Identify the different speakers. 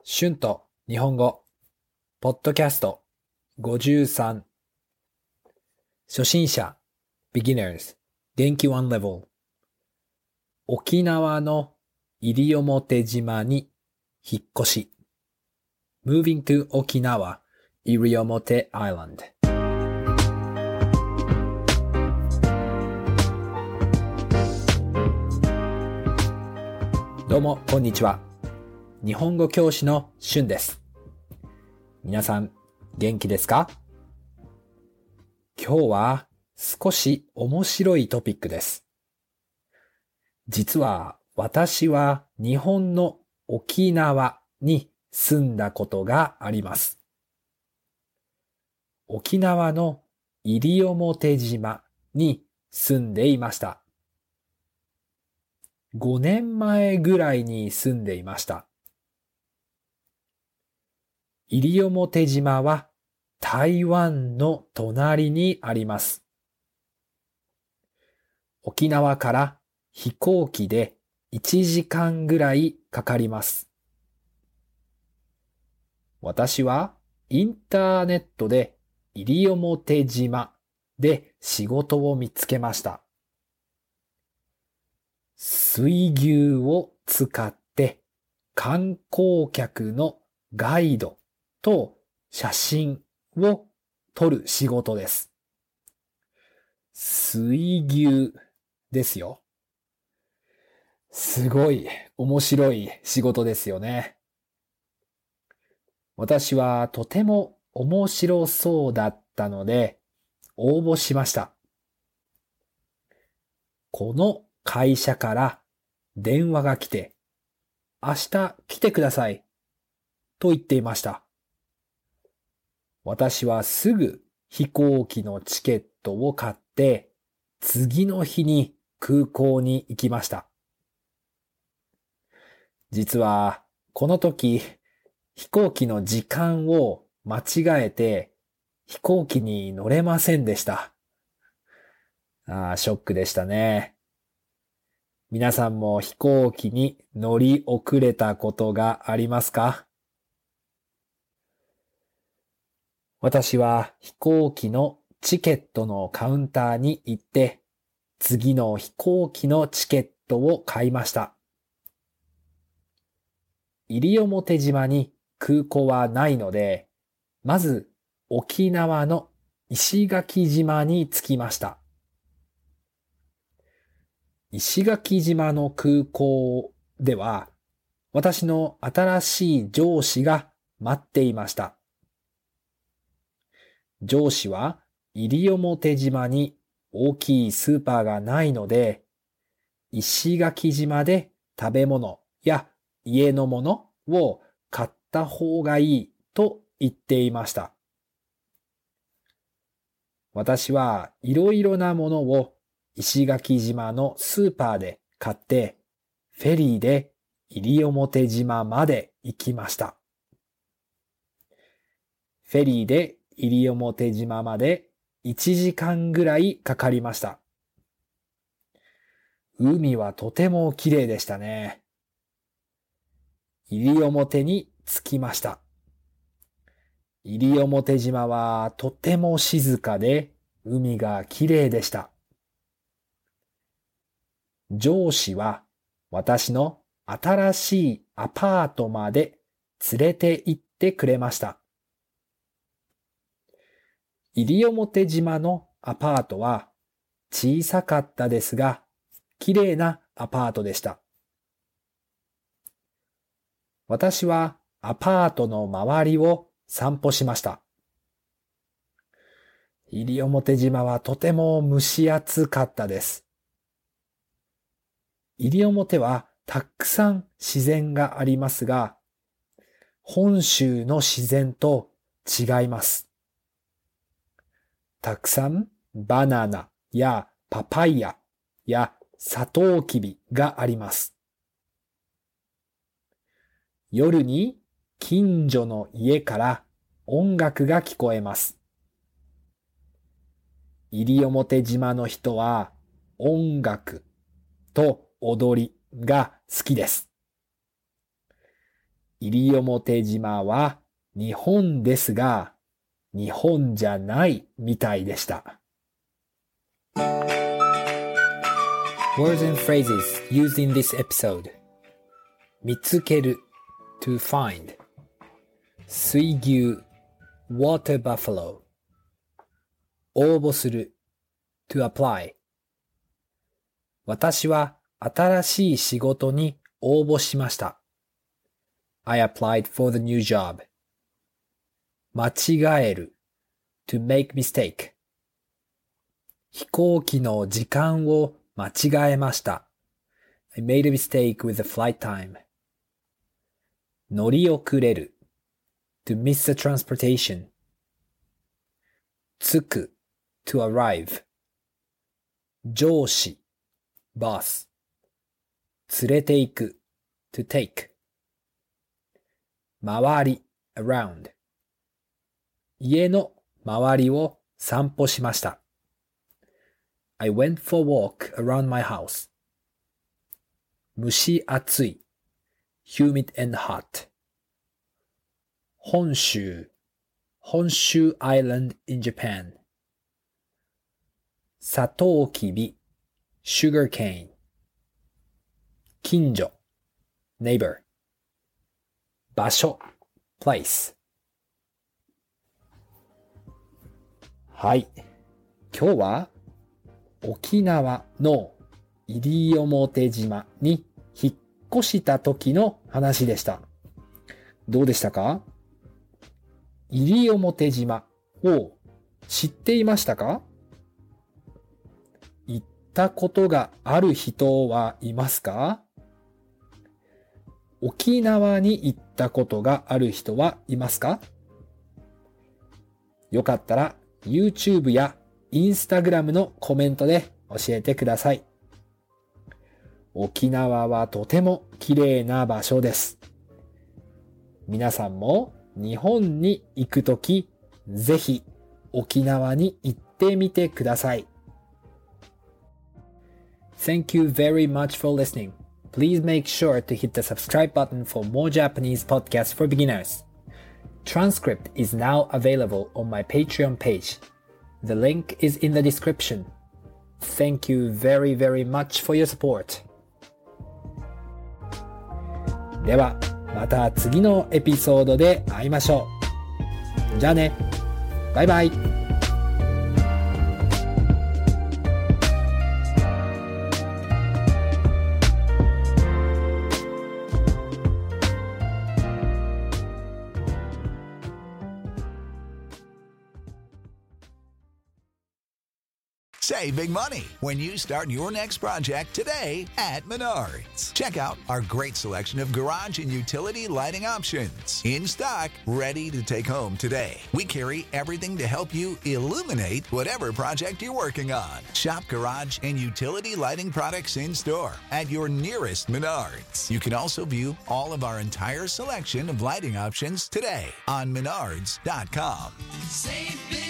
Speaker 1: 春と日本語、ポッドキャスト53、初心者、beginners、元気1 level、沖縄の西表島に引っ越し、moving to 沖縄、西表 Island。どうも、こんにちは。日本語教師の春です。皆さん、元気ですか？今日は少し面白いトピックです。実は私は日本の沖縄に住んだことがあります。沖縄の西表島に住んでいました。5年前ぐらいに住んでいました。西表島は台湾の隣にあります。沖縄から飛行機で1時間ぐらいかかります。私はインターネットで西表島で仕事を見つけました。水牛を使って観光客のガイドと写真を撮る仕事です。水牛ですよ。すごい面白い仕事ですよね。私はとても面白そうだったので応募しました。この会社から電話が来て、明日来てくださいと言っていました。私はすぐ飛行機のチケットを買って、次の日に空港に行きました。実はこの時飛行機の時間を間違えて飛行機に乗れませんでした。ショックでしたね。皆さんも飛行機に乗り遅れたことがありますか？私は飛行機のチケットのカウンターに行って、次の飛行機のチケットを買いました。西表島に空港はないので、まず沖縄の石垣島に着きました。石垣島の空港では、私の新しい上司が待っていました。上司は西表島に大きいスーパーがないので、石垣島で食べ物や家のものを買った方がいいと言っていました。私はいろいろなものを石垣島のスーパーで買って、フェリーで西表島まで行きました。フェリーで西表島まで1時間ぐらいかかりました。海はとても綺麗でしたね。西表に着きました。西表島はとても静かで海が綺麗でした。上司は私の新しいアパートまで連れて行ってくれました。西表島のアパートは小さかったですが、綺麗なアパートでした。私はアパートの周りを散歩しました。西表島はとても蒸し暑かったです。西表はたくさん自然がありますが、本州の自然と違います。たくさんバナナやパパイヤやサトウキビがあります。夜に近所の家から音楽が聞こえます。西表島の人は音楽と踊りが好きです。 西表島は日本ですが、日本じゃないみたいでした。Words and phrases used in this episode. 見つける to find. 水牛 water buffalo. 応募する to apply. 私は新しい仕事に応募しました。I applied for the new job. 間違える to make mistake. 飛行機の時間を間違えました。I made a mistake with the flight time. 乗り遅れる to miss the transportation. 着く to arrive. 上司 boss. 連れて行く to take. 周り around. 家の周りを散歩しました。I went for a walk around my house. 蒸し暑い humid and hot. 本州 Honshu Island in Japan. サトウキビ sugar cane. 近所 neighbor. 場所 place. はい。今日は沖縄の西表島に引っ越した時の話でした。どうでしたか？西表島を知っていましたか？行ったことがある人はいますか？沖縄に行ったことがある人はいますか？よかったら YouTube や Instagram のコメントで教えてください。沖縄はとても綺麗な場所です。皆さんも日本に行くとき、ぜひ沖縄に行ってみてください。Thank you very much for listening. Please make sure to hit the subscribe button for more Japanese podcasts for beginners. Transcript is now available on my Patreon page. The link is in the description. Thank you very, very much for your support. では、また次のエピソードで会いましょう。じゃあね。バイバイ。
Speaker 2: Save big money when you start your next project today at Menards. Check out our great selection of garage and utility lighting options in stock, ready to take home today. We carry everything to help you illuminate whatever project you're working on. Shop garage and utility lighting products in store at your nearest Menards. You can also view all of our entire selection of lighting options today on Menards.com. Save big